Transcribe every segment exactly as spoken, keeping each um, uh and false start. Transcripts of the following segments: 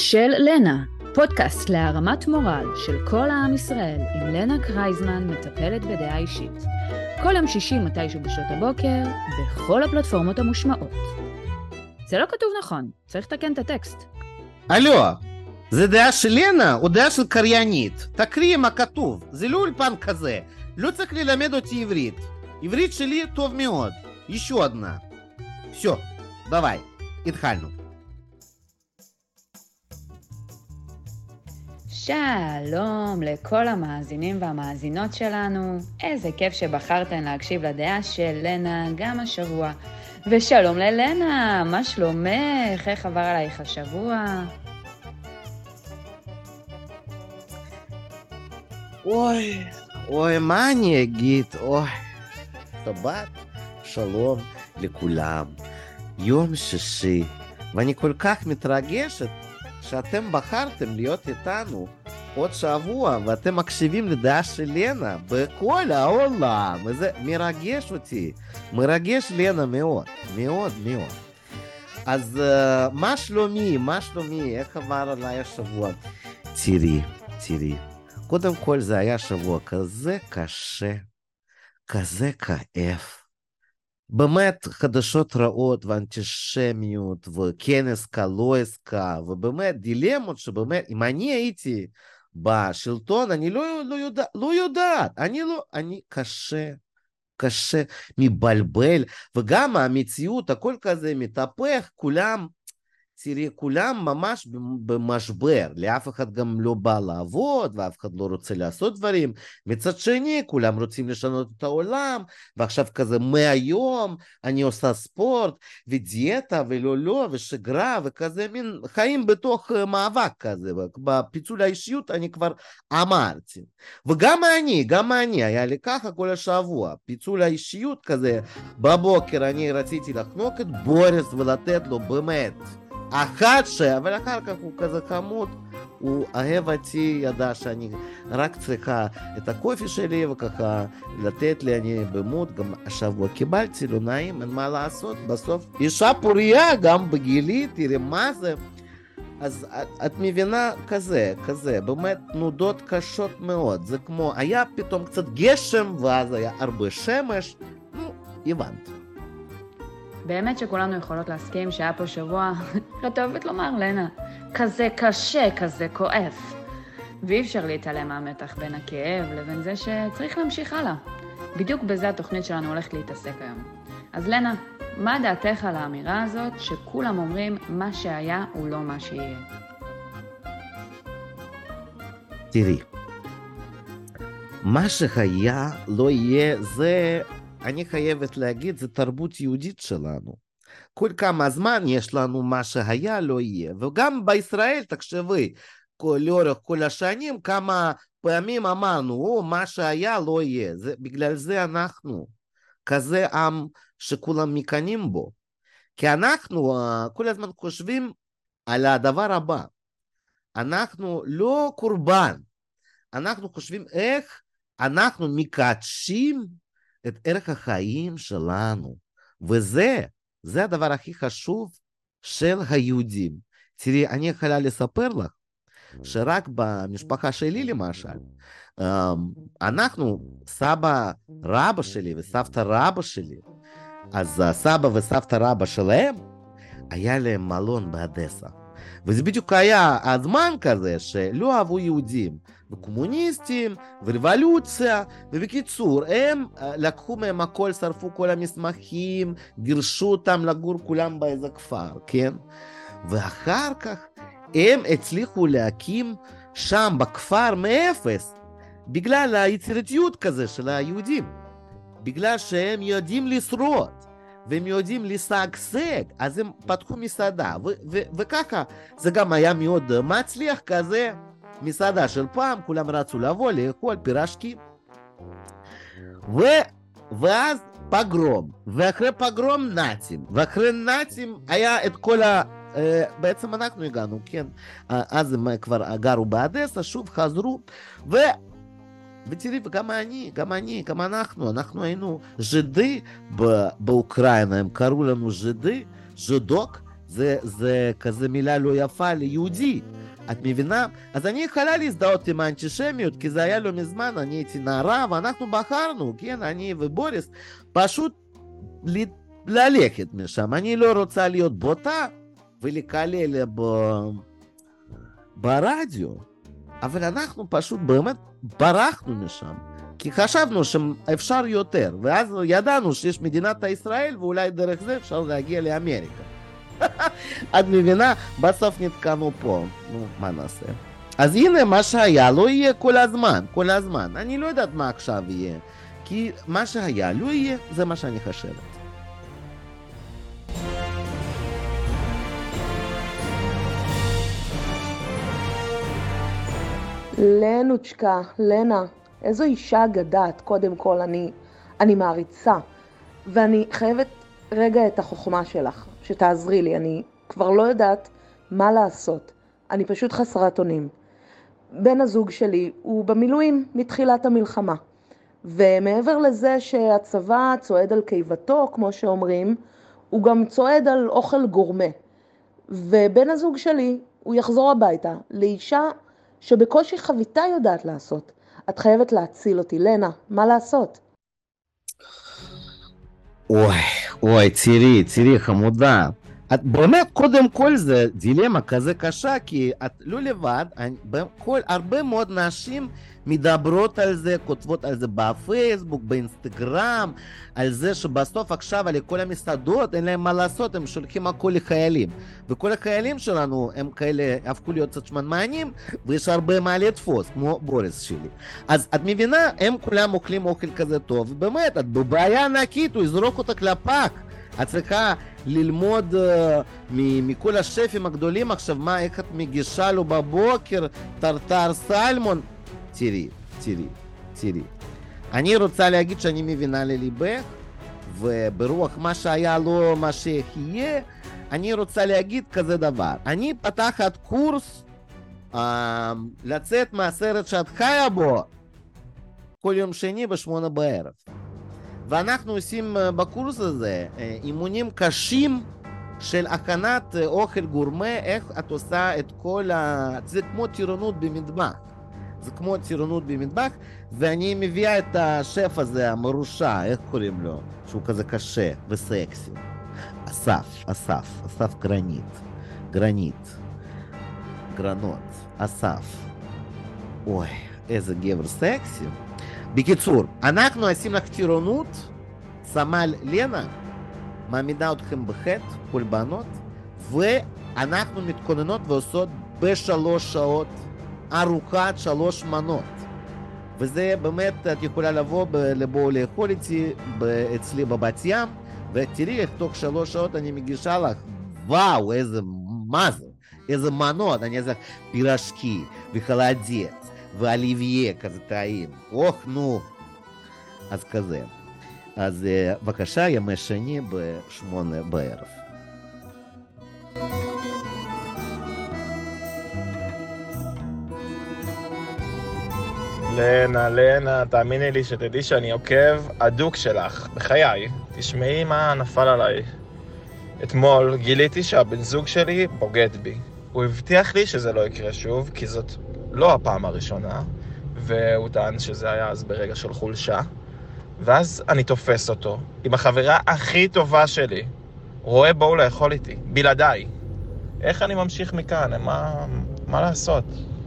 של לנה, פודקאסט להרמת מורל של כל העם ישראל, עם לנה קרייזמן, מטפלת בדעה אישית. כל יום שישי מתישהו בשעות הבוקר, בכל הפלטפורמות המושמעות. זה לא כתוב נכון, צריך לתקן את הטקסט. אלו, זה דעה של לנה או דעה של קריינית? תקריאי מה כתוב, זה לא אולפן כזה. לא צריך ללמד אותי עברית. עברית שלי טוב מאוד. еще одна. все, давай, התחלנו. שלום לכל המאזינים והמאזינות שלנו. איזה כיף שבחרתן להקשיב לדעה של לנה גם השבוע. ושלום ללנה, מה שלומך? איך עבר עלייך השבוע? אוי, אוי, מה אני אגיד? אוי, שבת, שלום לכולם. יום שישי, ואני כל כך מתרגשת שאתם בחרתם להיות איתנו עוד שבוע, ואתם מקשיבים לדעה של לנה בכל העולם. וזה מרגש אותי, מרגש לנה מאוד, מאוד מאוד. אז uh, מה שלומי, מה שלומי, איך עבר עליי השבוע? תראי, תראי. קודם כל זה היה שבוע כזה קשה, כזה כאב. באמת חדשות רעות ואנטישמיות וכנס לא עסקה, ובאמת דילמות שבאמת, אם אני הייתי בשלטון, אני לא, לא, יודע, לא יודעת, אני לא, אני קשה, קשה, מבלבל, וגם המציאות, הכל כזה מתהפך, כולם, תראי, כולם ממש במשבר, לאף אחד גם לא בא לעבוד, ואף אחד לא רוצה לעשות דברים, מצד שני, כולם רוצים לשנות את העולם, ועכשיו כזה מהיום, אני עושה ספורט, ודיאטה, ולא לא, ושגרה, וכזה מין חיים בתוך מאבק כזה, בפיצול האישיות אני כבר אמרתי, וגם אני, גם אני, היה לי ככה כל השבוע, פיצול האישיות כזה, בבוקר אני רציתי לחנוק את בוריס ולתת לו באמת, אחת ש... אבל אחר כך הוא כזה חמוד, הוא אוהב אותי, ידע שאני רק צריכה את הקופי שלי וככה לתת לי, אני במות, גם השבוע קיבלתי, לא נעים, אין מה לעשות, בסוף אישה פוריה גם בגילי, תראי מה זה, אז את, את מבינה כזה, כזה, באמת תנודות קשות מאוד, זה כמו, היה פתאום קצת גשם ואז היה הרבה שמש, נו, הבנת. באמת שכולנו יכולות להסכים שהיה פה שבוע, את אוהבת לומר, לנה, כזה קשה, כזה כואב. ואי אפשר להתעלם מהמתח בין הכאב לבין זה שצריך להמשיך הלאה. בדיוק בזה התוכנית שלנו הולכת להתעסק היום. אז לנה, מה דעתך על האמירה הזאת שכולם אומרים מה שהיה הוא לא מה שיהיה? תראי, מה שהיה לא יהיה זה... אני חייבת להגיד, זה תרבות יהודית שלנו. כל כמה זמן יש לנו מה שהיה לא יהיה. וגם בישראל, תחשבי, לאורך כל השנים, כמה פעמים אמרנו, או, מה שהיה לא יהיה. זה, בגלל זה אנחנו, כזה עם שכולם מקנים בו. כי אנחנו כל הזמן חושבים על הדבר הבא. אנחנו לא קורבן. אנחנו חושבים איך אנחנו מקדשים את ערך החיים שלנו, וזה, זה הדבר הכי חשוב של היהודים. תראי, אני יכולה לספר לך, שרק במשפחה שלי למשל, אנחנו, סבא רבא שלי וסבתא רבא שלי, אז סבא וסבתא רבא שלהם, היה להם מלון באדסה. וזה בדיוק היה הזמן כזה שלא אהבו יהודים, וקומוניסטים, ורבולוציה, ובקיצור, הם לקחו מהם הכל, שרפו כל המסמכים, גירשו אותם לגור כולם באיזה כפר, כן? ואחר כך הם הצליחו להקים שם בכפר מאפס, בגלל היצירתיות כזה של היהודים, בגלל שהם יודעים לשרוד. והם יודעים לשגשג, אז הם פתחו מסעדה, ו- ו- וככה זה גם היה מאוד מצליח כזה, מסעדה של פעם, כולם רצו לבוא לאכול פירשקים, ו- ואז פגרום, ואחרי פגרום נאצים, ואחרי נאצים היה את כל ה... בעצם אנחנו הגענו, כן, אז הם כבר גרו באדסה, שוב חזרו, ו... ותראי, וגם אני, גם אני, גם אנחנו, אנחנו היינו ז'ידי באוקראינה, הם קראו לנו ז'ידי, ז'ידוק, זה, זה כזה מילה לא יפה ליהודי. את מבינה? אז אני יכולה להזדהות עם האנטישמיות, כי זה היה לא מזמן, אני הייתי נערה, ואנחנו בחרנו, כן, אני ובוריס, פשוט ל... ללכת משם. אני לא רוצה להיות בוטה ולקלל ב... ברדיו, אבל אנחנו פשוט באמת ברחנו משם, כי חשבנו שאפשר יותר, ואז ידענו שיש מדינת ישראל, ואולי דרך זה אפשר להגיע לאמריקה. את מבינה? בסוף נתקענו פה. נו, מה נעשה? אז הנה, מה שהיה לא יהיה כל הזמן, כל הזמן. אני לא יודעת מה עכשיו יהיה, כי מה שהיה לא יהיה, זה מה שאני חושבת. לנוצ'קה, לנה, איזו אישה אגדת, קודם כל אני, אני מעריצה, ואני חייבת רגע את החוכמה שלך, שתעזרי לי, אני כבר לא יודעת מה לעשות, אני פשוט חסרת אונים. בן הזוג שלי הוא במילואים מתחילת המלחמה, ומעבר לזה שהצבא צועד על קיבתו, כמו שאומרים, הוא גם צועד על אוכל גורמה, ובן הזוג שלי הוא יחזור הביתה לאישה שבקושי חביתה יודעת לעשות. את חייבת להציל אותי, לנה, מה לעשות? אוי, אוי, תראי, תראי, חמודה. את באמת, קודם כל זה דילמה כזה קשה, כי את לא לבד, כל, הרבה מאוד נשים מדברות על זה, כותבות על זה בפייסבוק, באינסטגרם, על זה שבסוף עכשיו על כל המסעדות אין להם מה לעשות, הם שולחים הכל לחיילים. וכל החיילים שלנו הם כאלה הפכו להיות קצת שמנמנים, ויש הרבה מה לתפוס, כמו בוריס שלי. אז את מבינה, הם כולם אוכלים אוכל כזה טוב, ובאמת, את בבעיה ענקית, הוא יזרוק אותה לפח. את צריכה ללמוד uh, מכל השפים הגדולים עכשיו, מה, איך את מגישה לו בבוקר, טרטר סלמון. תראי, תראי, תראי. אני רוצה להגיד שאני מבינה לליבך, וברוח מה שהיה לא מה שיהיה, אני רוצה להגיד כזה דבר. אני פתחת קורס uh, לצאת מהסרט שאת חיה בו כל יום שני בשמונה בערב. ואנחנו עושים בקורס הזה אימונים קשים של הכנת אוכל גורמה, איך את עושה את כל ה... זה כמו טירונות במטבח. זה כמו טירונות במטבח, ואני מביאה את השף הזה, המרושע, איך קוראים לו? שהוא כזה קשה וסקסי. אסף, אסף, אסף גרנית. גרנית. גרנות. אסף. אוי, איזה גבר סקסי. בקיצור, אנחנו עושים לך טירונות, סמל לנה מעמידה אתכם בחטא, כל בנות, ואנחנו מתכוננות ועושות בשלוש שעות ארוחת שלוש מנות. וזה באמת, את יכולה לבוא, לבוא לאכול איתי אצלי בבת ים, ותראי איך תוך שלוש שעות אני מגישה לך, וואו, איזה, מה זה? איזה מנות, אני אעשה פירשקי וחלדית. ואליביה כזה טעים, אוח נו, אז כזה. אז בבקשה, ימי שני בשמונה בערב. לנה, לנה, תאמיני לי שתדעי שאני עוקב הדוק שלך, בחיי. תשמעי מה נפל עליי. אתמול גיליתי שהבן זוג שלי בוגד בי. הוא הבטיח לי שזה לא יקרה שוב, כי זאת לא הפעם הראשונה, והוא טען שזה היה אז ברגע של חולשה. ואז אני תופס אותו עם החברה הכי טובה שלי. רואה בואו לאכול איתי, בלעדיי. איך אני ממשיך מכאן? מה, מה לעשות?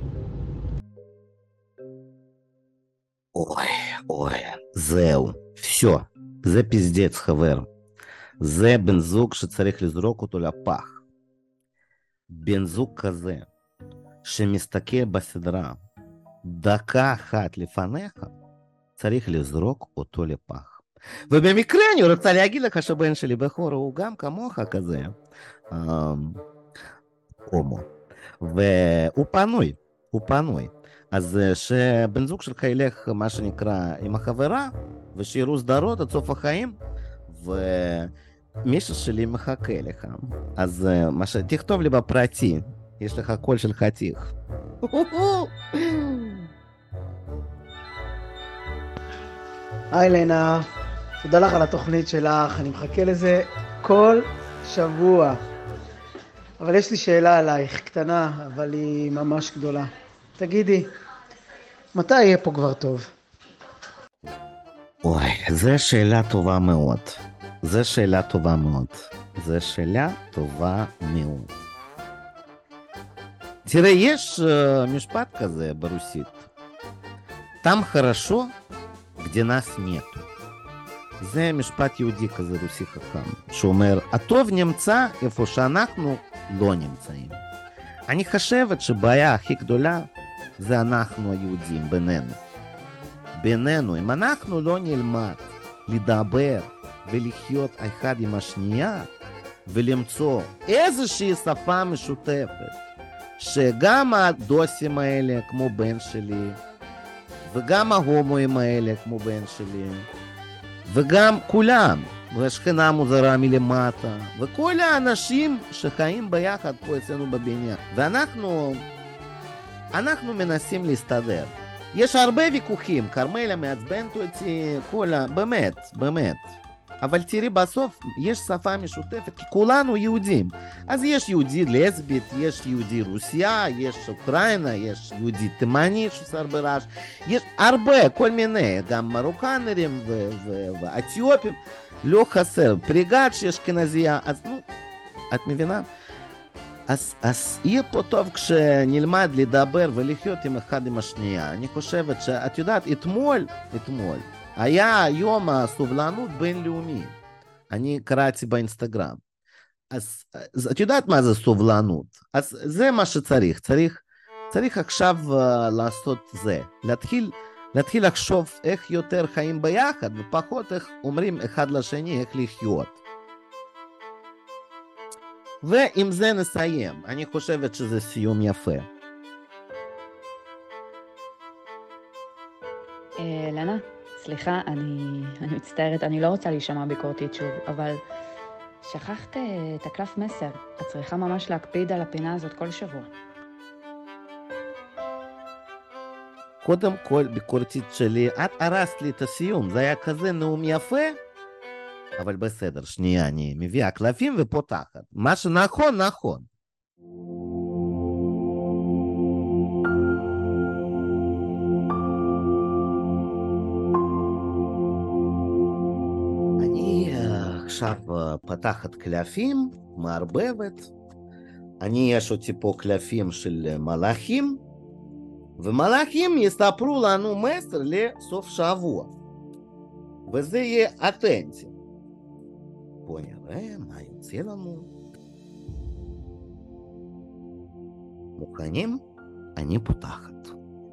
אוי, אוי, זהו, פשו. זה פזדץ, חבר. זה בן זוג שצריך לזרוק אותו לפח. בן זוג כזה, שמסתכל בסדרה דקה אחת לפניך, צריך לזרוק אותו לפח. ובמקרה אני רוצה להגיד לך שבן שלי בכור הוא גם כמוך כזה, הומו, והוא פנוי, הוא פנוי. אז שבן זוג שלך ילך מה שנקרא עם החברה, ושירו סדרות עד סוף החיים, ומישהו שלי מחכה לך. אז מה ש... תכתוב לי בפרטי, יש לך קול של חתיך. היי לנה, תודה לך על התוכנית שלך, אני מחכה לזה כל שבוע. אבל יש לי שאלה עלייך, קטנה, אבל היא ממש גדולה. תגידי, מתי יהיה פה כבר טוב? אוי, זו שאלה טובה מאוד. זו שאלה טובה מאוד. זו שאלה טובה מאוד. תראה, יש uh, משפט כזה ברוסית. Там хорошо, где нас нету. זה משפט יהודי כזה רוסי חכם, שאומר, הטוב נמצא איפה שאנחנו לא נמצאים. אני חושבת שבעיה הכי גדולה זה אנחנו היהודים בינינו. בינינו, אם אנחנו לא נלמד לדבר ולחיות אחד עם השנייה, ולמצוא איזושהי שפה משותפת, שגם הדוסים האלה כמו בן שלי, וגם ההומואים האלה כמו בן שלי, וגם כולם, והשכנה מוזרה מלמטה, וכל האנשים שחיים ביחד פה אצלנו בבניין. ואנחנו אנחנו מנסים להסתדר. יש הרבה ויכוחים, קרמלה מעצבנת אותי, כל ה... באמת, באמת. אבל תראי, בסוף יש שפה משותפת, כי כולנו יהודים. אז יש יהודי לסבית, יש יהודי רוסיה, יש אוקראינה, יש יהודי תימני שעושה הרבה רעש. יש הרבה, כל מיני, גם מרוקנרים ואתיופים. לא חסר, פריגת שיש אשכנזייה, אז נו, את מבינה? אז, אז יהיה פה טוב כשנלמד לדבר ולחיות עם אחד עם השנייה. אני חושבת שאת יודעת, אתמול, אתמול, היה יום הסובלנות בינלאומי. אני קראתי באינסטגרם. אז, אז את יודעת מה זה סובלנות? אז זה מה שצריך. צריך, צריך עכשיו uh, לעשות זה. להתחיל, להתחיל לחשוב איך יותר חיים ביחד, ופחות איך אומרים אחד לשני איך לחיות. ועם זה נסיים. אני חושבת שזה סיום יפה. אה, לנה, סליחה, אני, אני מצטערת, אני לא רוצה להישמע ביקורתית שוב, אבל שכחת את הקלף מסר. את צריכה ממש להקפיד על הפינה הזאת כל שבוע. קודם כל, ביקורתית שלי, את הרסת לי את הסיום. זה היה כזה נאום יפה, אבל בסדר, שנייה, אני מביאה קלפים ופותחת. מה שנכון, נכון. אני עכשיו פתחת קלפים, מערבבת. אני יש אותי פה קלפים של מלאכים, ומלאכים יספרו לנו מסר לסוף שבוע. וזה יהיה אותנטי. בוא נראה מה יוצא לנו. מוכנים? אני פותחת.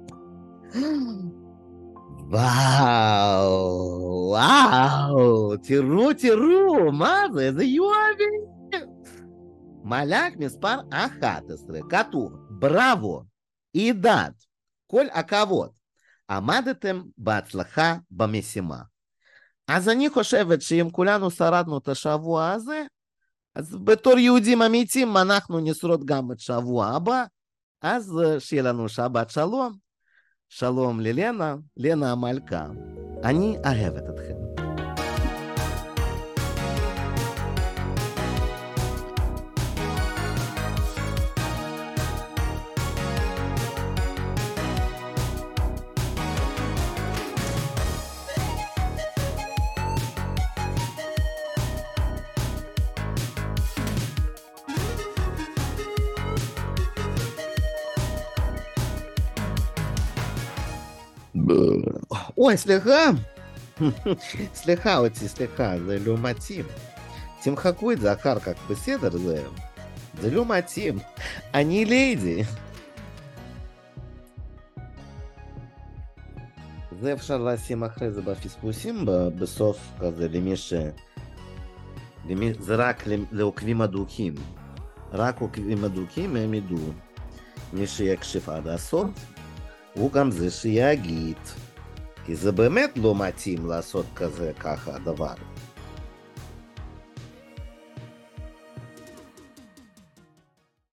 וואו, וואו, תראו, תראו, מה זה? איזה יופי. מלאך מספר אחת עשרה, כתוב, בראבו, עידד, כל הכבוד. עמדתם בהצלחה במשימה. אז אני חושבת שאם כולנו שרדנו את השבוע הזה, אז בתור יהודים אמיתיים אנחנו נשרוד גם את שבוע הבא, אז שיהיה לנו שבת שלום. שלום ללנה, לנה המלכה. אני אוהבת אתכם. אוי, סליחה. סליחה אותי, סליחה, זה לא מתאים. תמחקו את זה אחר כך, בסדר, זה, זה לא מתאים. אני ליידי. זה אפשר לשים אחרי זה בפספוסים, בסוף כזה, למי ש... למי... זה רק לעוקבים הדוקים. רק עוקבים הדוקים הם ידעו. מי שיקשיב עד הסוף, הוא גם זה שיגיד. כי זה באמת לא מתאים לעשות כזה ככה הדבר.